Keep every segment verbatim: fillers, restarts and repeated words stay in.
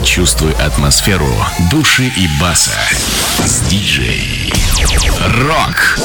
Почувствуй атмосферу души и баса с диджей Рок.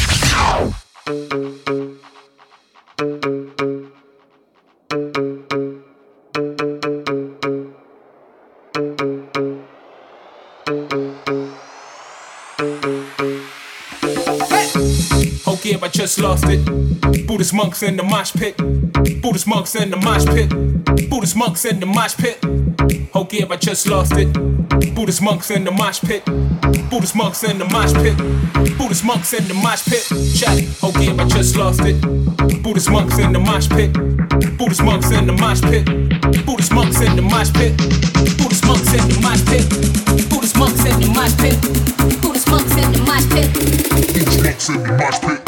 I just lost it. Buddhist monks in the mosh pit. Buddhist monks in the mosh pit. Buddhist monks in the mosh pit. Oh, give, I just lost it. Buddhist monks in the mosh pit. Buddhist monks in the mosh pit. Buddhist monks in the mosh pit. Check. Oh, give, I just lost it. Buddhist monks in the mosh pit. Buddhist monks in the mosh pit. Buddhist monks in the mosh pit. Buddhist monks in the mosh pit. Buddhist monks in the mosh pit. Buddhist monks in the mosh pit. Buddhist monks in the mosh pit.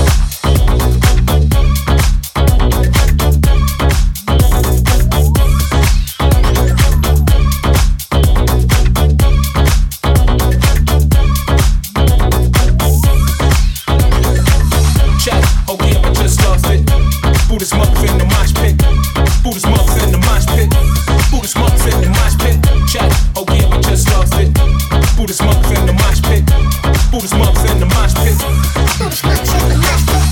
Buddhist monks in the mosh pit. Buddhist monks in the mosh pit. Buddhist monks in the mosh pit. Check. Oh yeah, I just lost it. Buddhist monks in the mosh pit. Buddhist monks in the mosh pit. Buddhist monks in the mosh pit.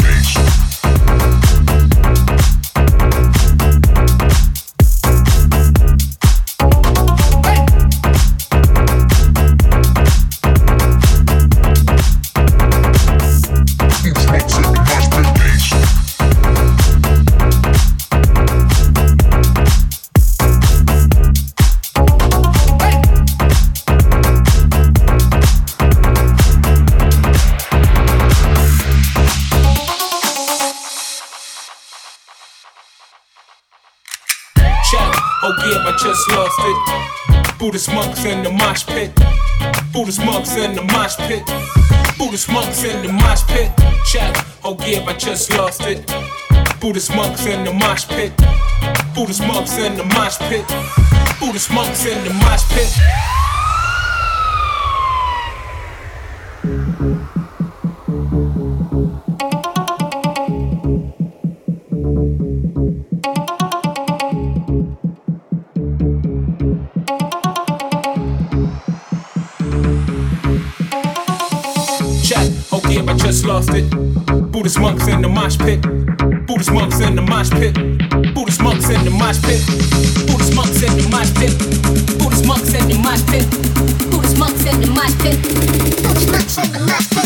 Just lost it. Buddhist monks in the mosh pit. Buddhist monks in the mosh pit. Buddhist monks in the mosh pit. Check. Oh yeah, I just lost it. Buddhist monks in the mosh pit. Buddhist monks in the mosh pit. Buddhist monks in the mosh pit. I just lost it. Buddhist monks in the mosh pit. Buddhist monks in the mosh pit. Buddhist monks in the mosh pit. Buddhist monks in the mosh pit. Buddhist monks in the mosh pit. Buddhist monks in the mosh pit. Buddhist monks in the mosh pit.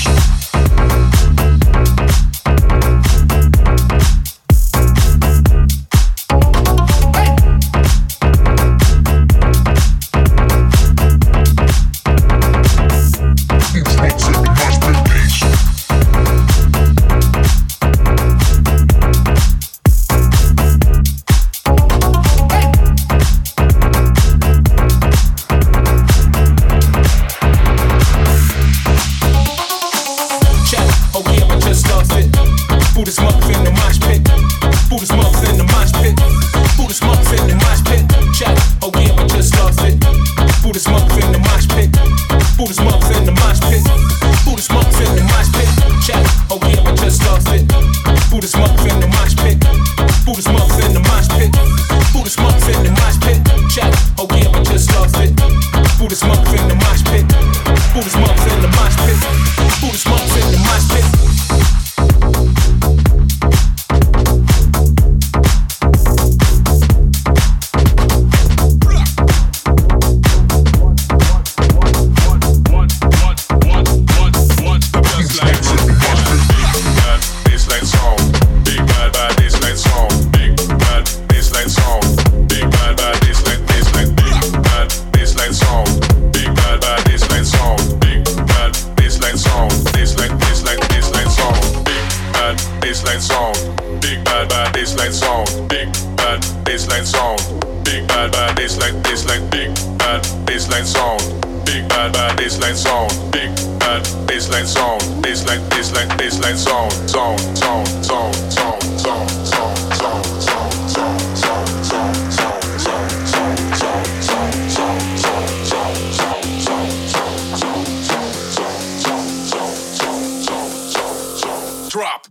Drop.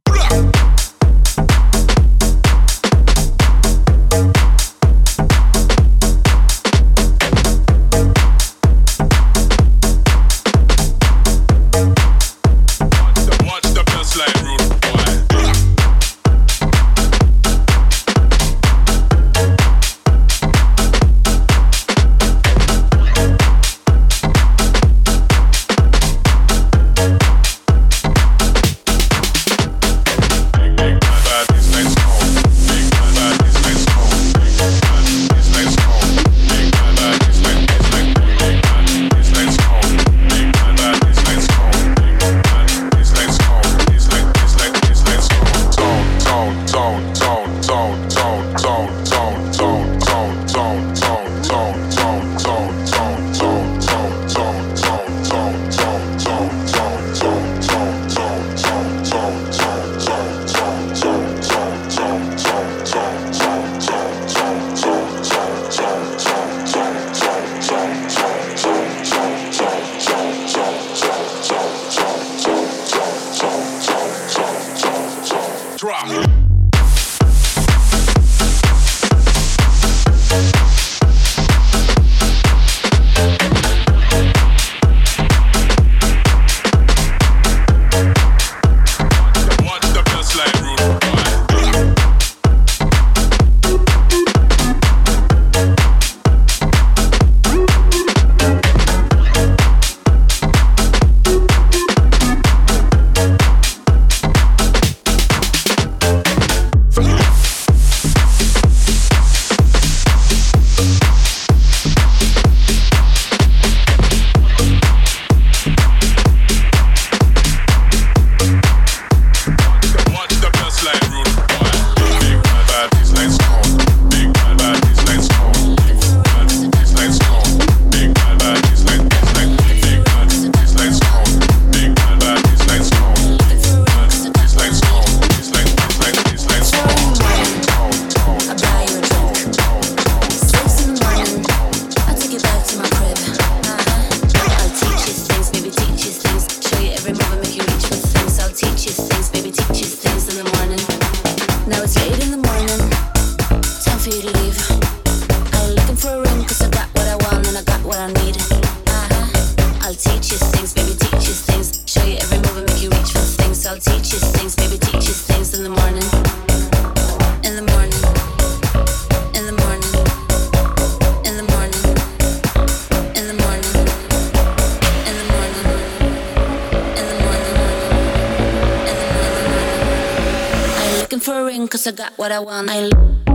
cause I got what I want. I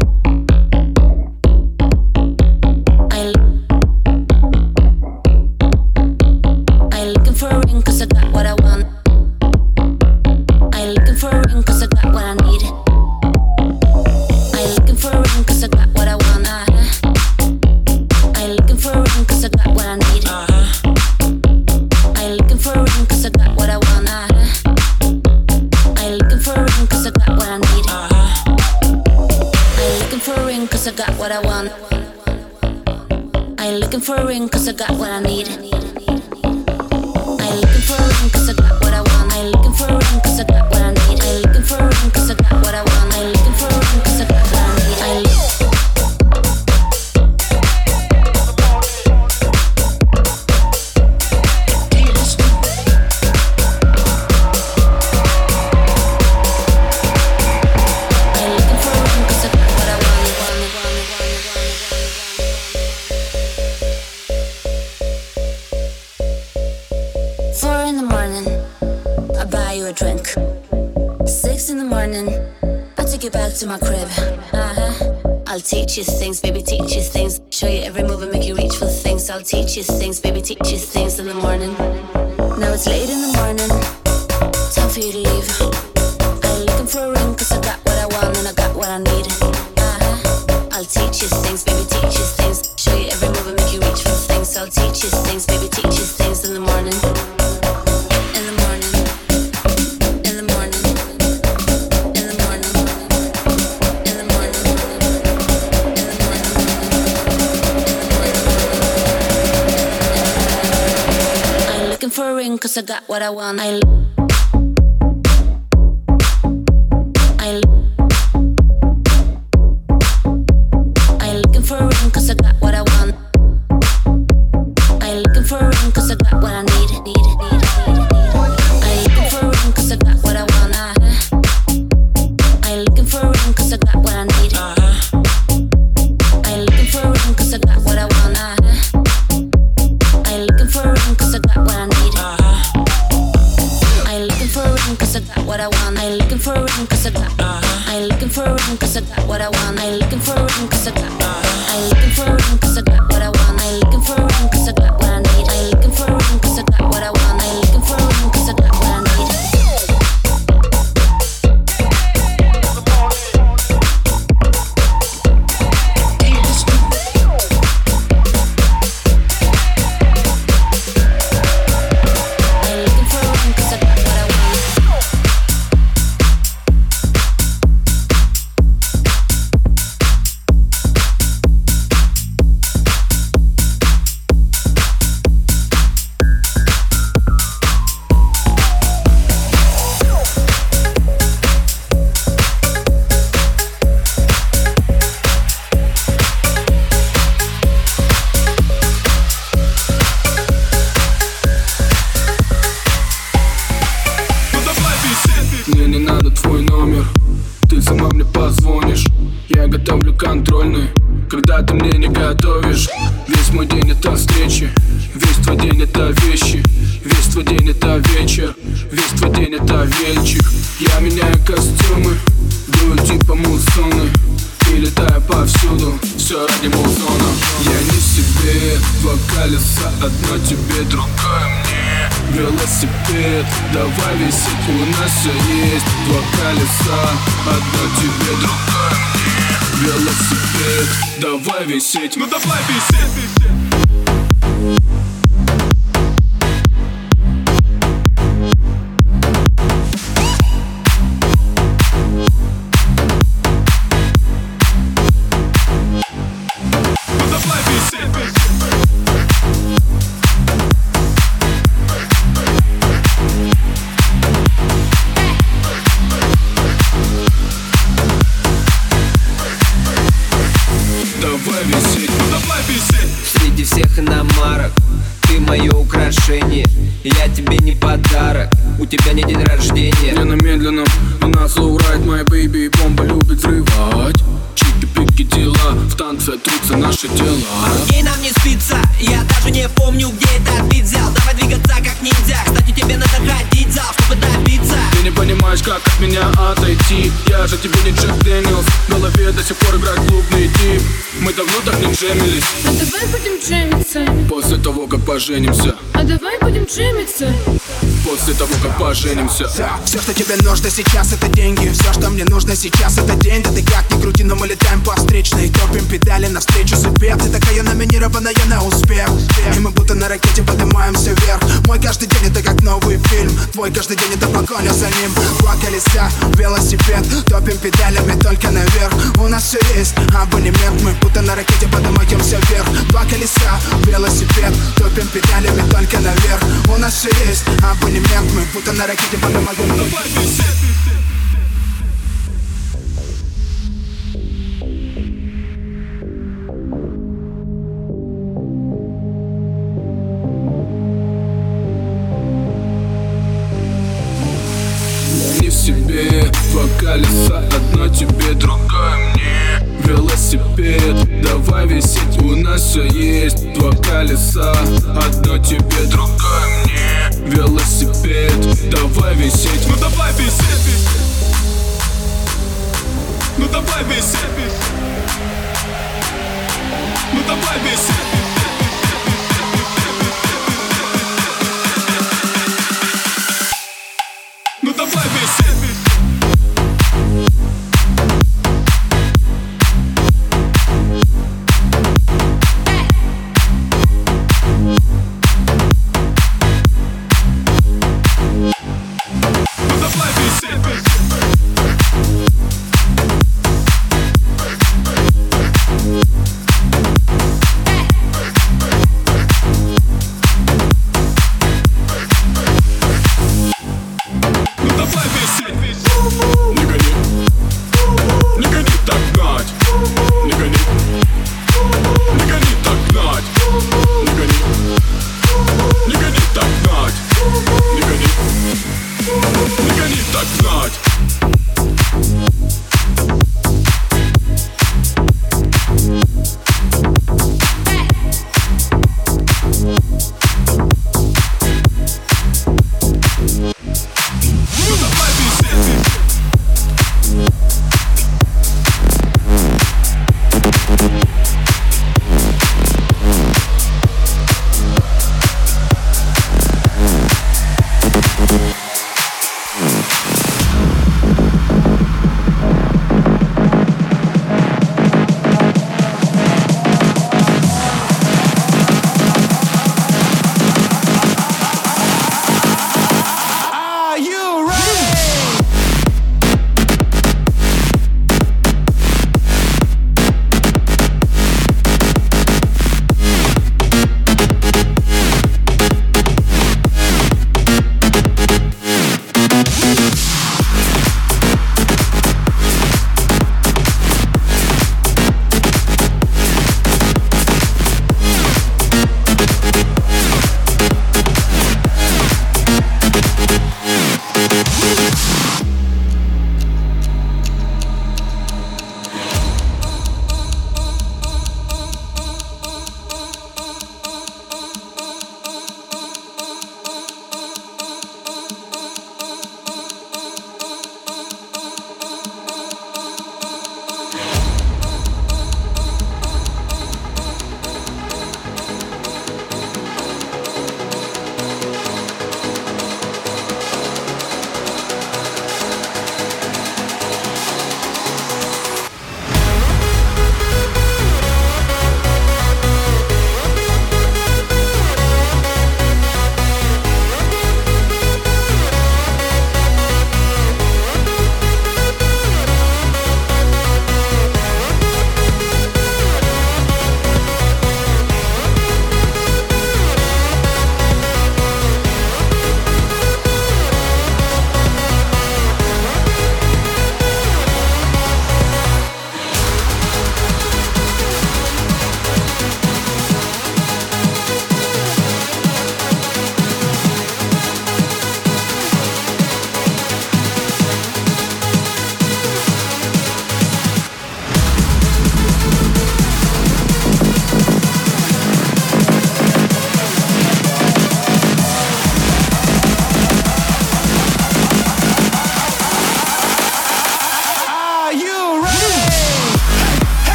ain't looking for a ring cause I got what I want. I ain't looking for a ring cause I got what I need. I ain't looking for a ring cause I got what I want. Uh-huh. I ain't looking for a ring cause I got what I need. Uh-huh. I ain't looking for a ring cause I got what I want. Uh-huh. I ain't looking for a ring cause I got what I need. Uh-huh. I ain't looking for a ring cause I got what I want. I ain't looking for a ring cause I got what I need. I ain't looking for a ring cause I got what I want. I ain't looking for a ring cause I got what I need. I ain't looking for a ring cause I got what I want. I ain't looking for a ring cause I got what I need. I ain't drink. Six in the morning, I'll take you back to my crib. Uh-huh. I'll teach you things, baby, teach you things. Show you every move and make you reach for things. I'll teach you things, baby, teach you things in the morning. Now it's late in the morning, time for you to leave. I ain't looking for a ring cause I got what I want and I got what I need. Uh-huh. I'll teach you things, baby, teach you things. Show you every move and make you reach for things. I'll teach you things, baby, teach you things in the morning. For a ring cause I got what I want. I I I ain't looking for a ring cause I got what I want. I ain't looking for a ring cause I got what I need. Need, need, need, need. I ain't looking for a ring cause I got what I want. Uh-huh. I ain't looking for a ring cause I got what I need. Uh-huh. I ain't looking for a ring cause I got what I want. Uh-huh. I ain't looking for a ring cause I got what I need. I ain't looking for a ring cause I got what I want. I ain't looking for a ring cause I got. I ain't looking for a ring cause I got what I want. I ain't looking for a ring cause I got. I ain't looking for a ring cause I got what I want. I ain't looking for a ring cause I got what I need. I ain't looking for a ring cause I got what I want. I ain't looking for a ring cause I got what I need. Контрольный, когда ты мне не готовишь. Весь мой день это встречи, весь твой день это вещи, весь твой день это вечер, весь твой день это вечер. Я меняю костюмы, дую типа муссоны и летаю повсюду, все ради музона. Я не себе, два колеса, одно тебе, другое мне. Велосипед, давай висеть, у нас все есть. Два колеса, одно тебе, другое мне. Велосипед, давай висеть, ну давай висеть. Среди всех иномарок ты мое украшение. я тебе не подарок, у тебя не день рождения. Не на медленном, у нас лоурайд, моя бэйби, бомба любит взрывать. Чики-пики дела, в танце трутся наши тела. Ей нам не спится, я даже не помню, где этот бит взял. Давай двигаться как ниндзя, кстати, тебе надо ходить в зал, чтобы добиться. Ты не понимаешь, как от меня отойти. Я же тебе не Джек Дэниелс, в голове до сих пор играет клубный тип. Мы давно так не джемились. А давай будем джемиться. После того, как поженимся. А давай будем джемиться. После того, как поженимся. Все, что тебе нужно сейчас, это деньги. Все, что мне нужно сейчас, это день. Да ты как ни крути, но мы летаем по встречной. Топим педали навстречу судьбе. Ты такая номинированная на успех. И мы будто на ракете поднимаемся вверх. Мой каждый день это как новый фильм. Твой каждый день это погоня за ним. Два колеса, велосипед. Топим педалями только наверх. У нас все есть абонемент. Мы будто на ракете поднимаемся вверх. Два колеса, велосипед. Топим педалями только наверх. У нас все есть абонемент. Мы будто на ракете поднимаемся вверх. Не в себе, два колеса, одно тебе, другое мне. Велосипед, давай висеть, у нас все есть. Два колеса, одно тебе, другое мне. Велосипед, давай висеть. Ну давай висеть. Ну давай висеть. Ну давай висеть. Ну давай висеть.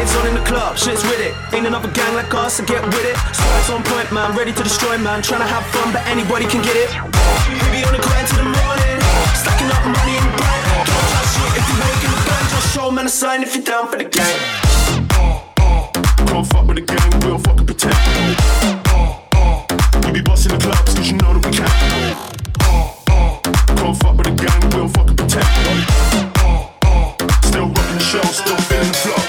lights on in the club, shit's with it. Ain't another gang like us, so get with it. Stripes on point, man, ready to destroy, man. Tryna have fun, but anybody can get it. We be on the grind till the morning, stacking up money in the bank. Don't try shit if you make in the bank. Just show man a sign if you're down for the gang. Don't fuck with the gang, we don't fucking pretend. We be busting the clubs, cause you know that we can. Don't fuck with the gang, we don't fucking pretend. Still rocking the show, still feeling the flow.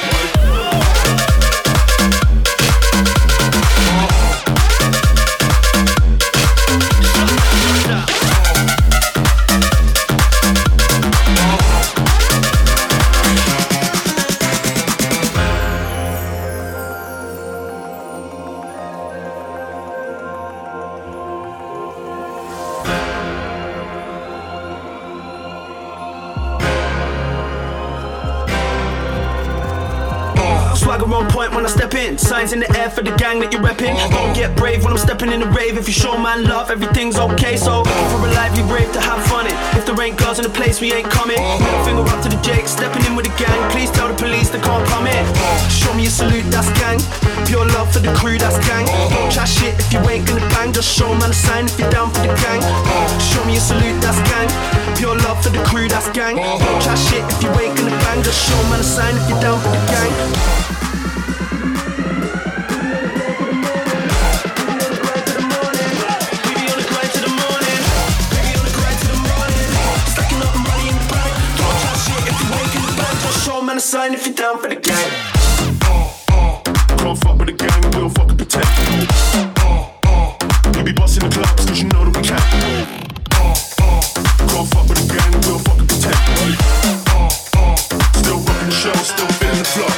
Swagger on point when I step in. Signs in the air for the gang that you're repping. Don't get brave when I'm stepping in the rave. If you show man love, everything's okay. So for a lively rave to have fun in. If there ain't girls in the place, we ain't coming. Middle finger up to the Jake, stepping in with the gang. Please tell the police they can't come in. Show me a salute, that's gang. Pure love for the crew, that's gang. Don't chat shit if you ain't gonna bang. Just show man a sign if you're down for the gang. Show me a salute, that's gang. Pure love for the crew, that's gang. Don't chat shit if you ain't gonna bang. Just show man a sign if you're down for the gang. Sign if you're down for the gang. Don't fuck with the gang, we don't fucking pretend. We be busting the clubs cause you know that we can. Don't fuck with the gang, we don't fucking pretend. Still rocking the show, still feeling the flow.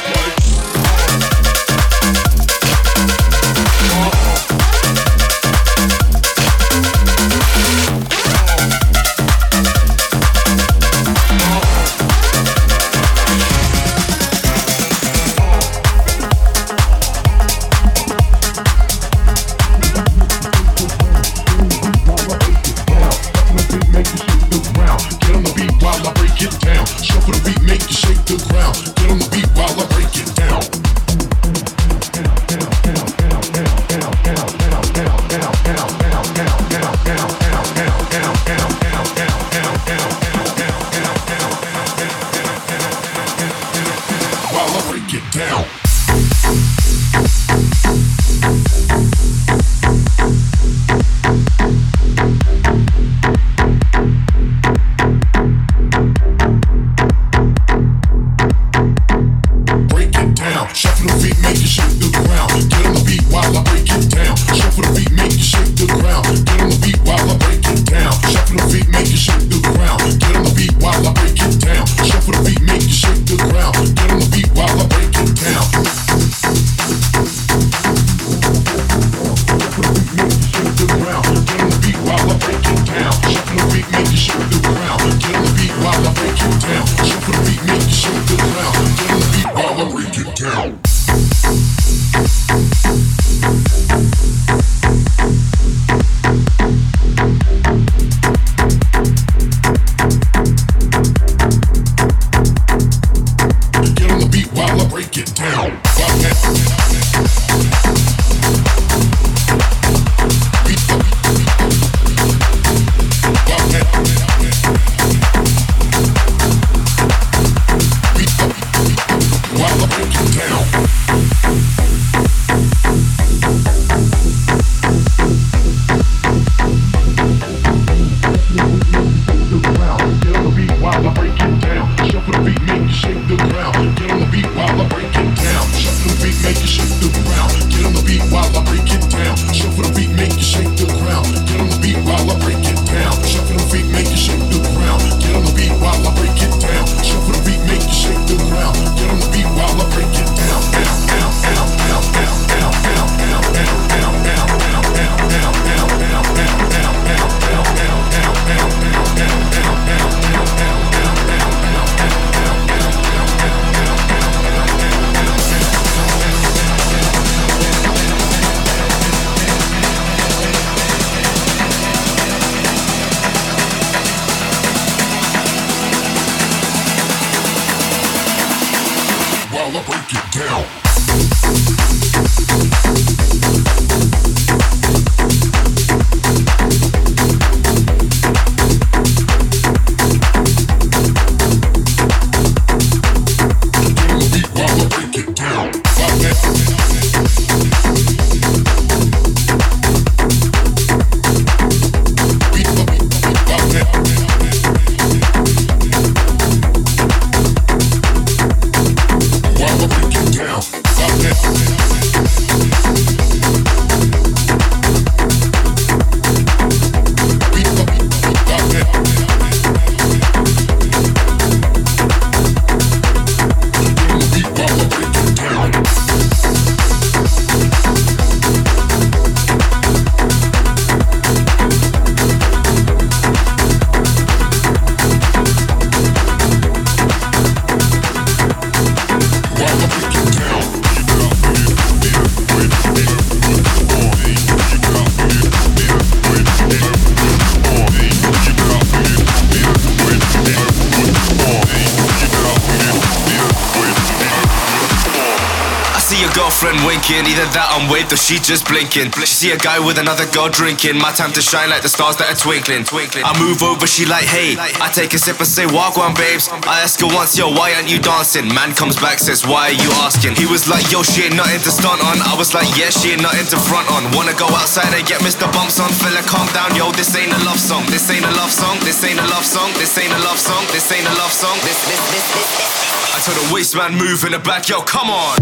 Winking, either that I'm waved or she just blinking. She see a guy with another girl drinking. My time to shine like the stars that are twinkling. I move over, she like, hey. I take a sip and say, walk on, babes. I ask her once, yo, why aren't you dancing? Man comes back, says, why are you asking? He was like, yo, she ain't nothing to stunt on. I was like, yeah, she ain't nothing to front on. Wanna go outside and get Mister Bumps on? Fella, calm down, yo, this ain't a love song. This ain't a love song. This ain't a love song. This ain't a love song. This ain't a love song. This, this, this, this, this. I told the waist man move in the back, yo, come on.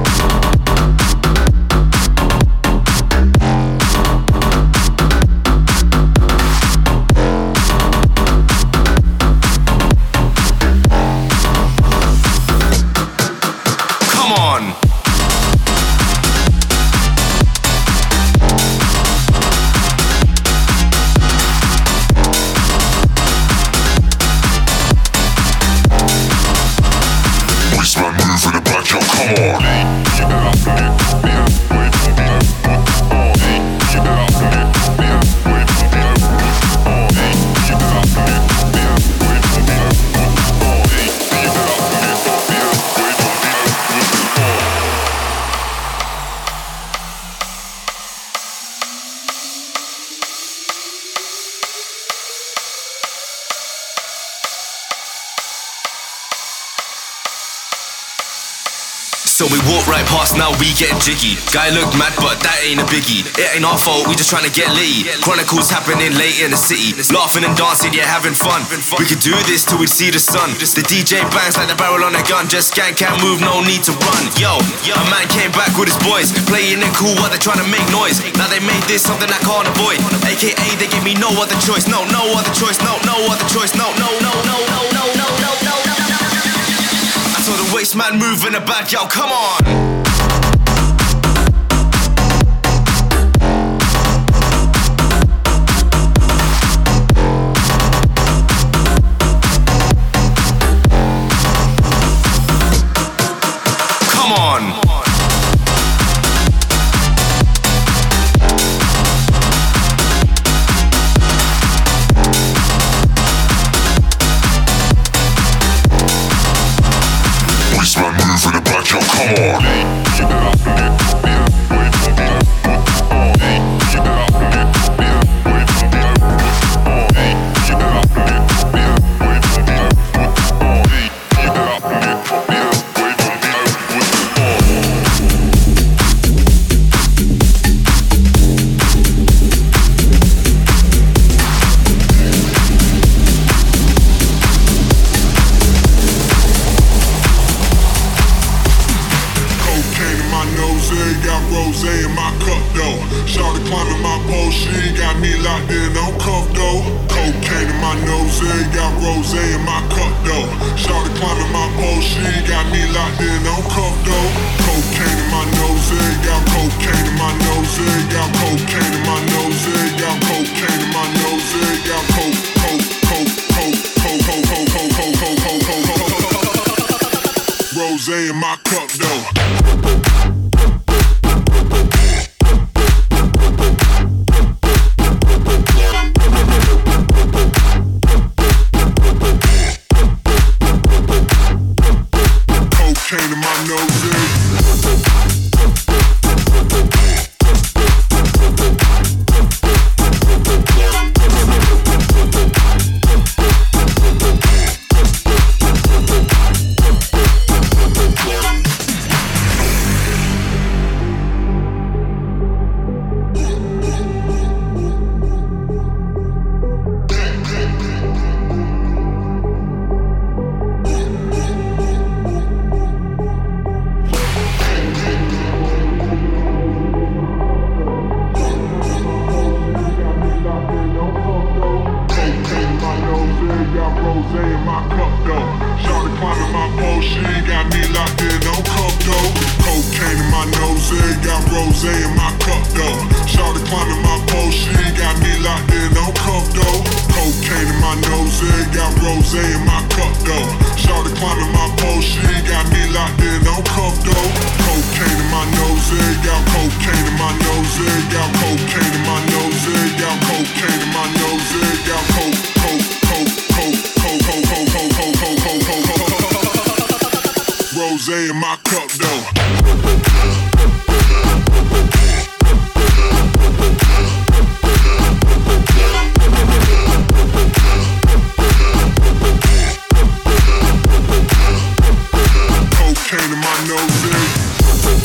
So we walk right past, now we getting jiggy. Guy looked mad, but that ain't a biggie. It ain't our fault, we just trying to get litty. Chronicles happening late in the city. Laughing and dancing, yeah, having fun. We could do this till we see the sun. The D J bangs like the barrel on a gun. Just scan, can't move, no need to run. Yo, a man came back with his boys, playing it cool while they trying to make noise. Now they made this something I can't avoid. A K A they give me no other choice. No, no other choice. No, no other choice. No, no, no, no, no, no, no, no, no. I saw the waist man move in the back, yo, come on. Rosé in my cup though. Cocaine in my nose. nose, got rose in my cup though. Shawty climbing my pole, she got me locked in on cuff though. Cocaine in my nose, got rose in my cup though. Shawty climbing my pole, she got me locked in on cuff though. Cocaine in my nose, got cocaine in my nose, got cocaine in my nose, got cocaine in my nose, got coke, coke, coke, coke, coke, coke, coke, coke, coke, coke, coke, coke. Rose in my cup though. Cocaine in my nose.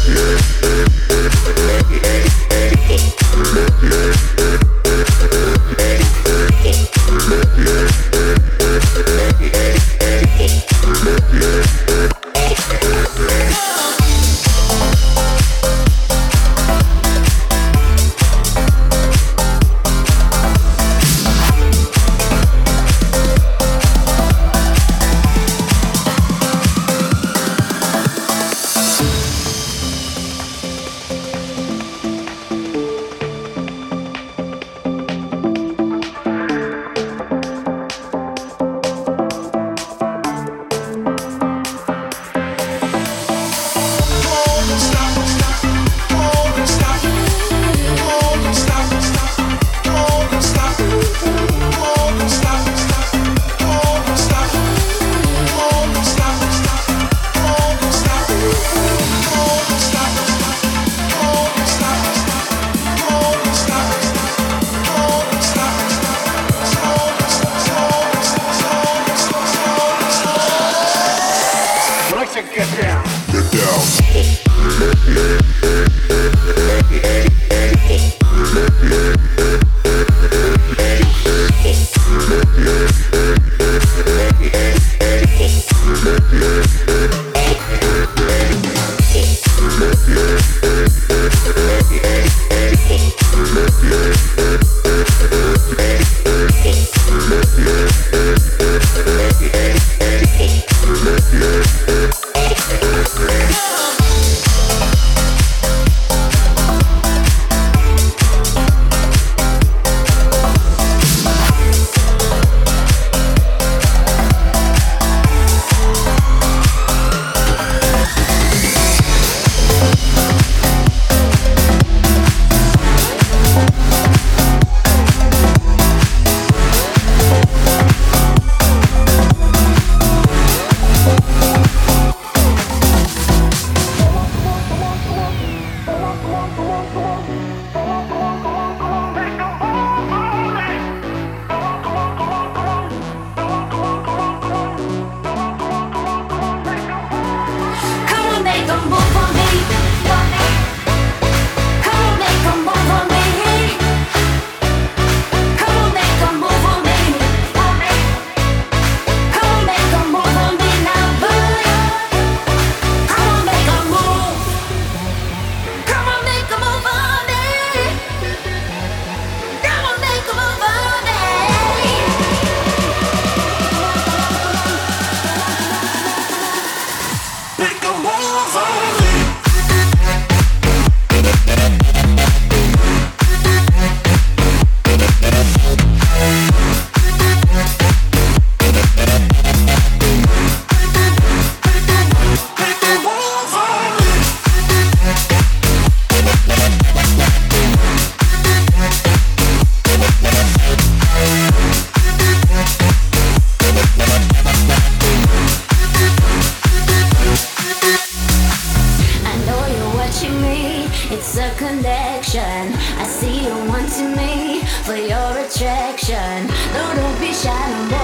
I see you wanting me for your attraction. No, don't be shy no more.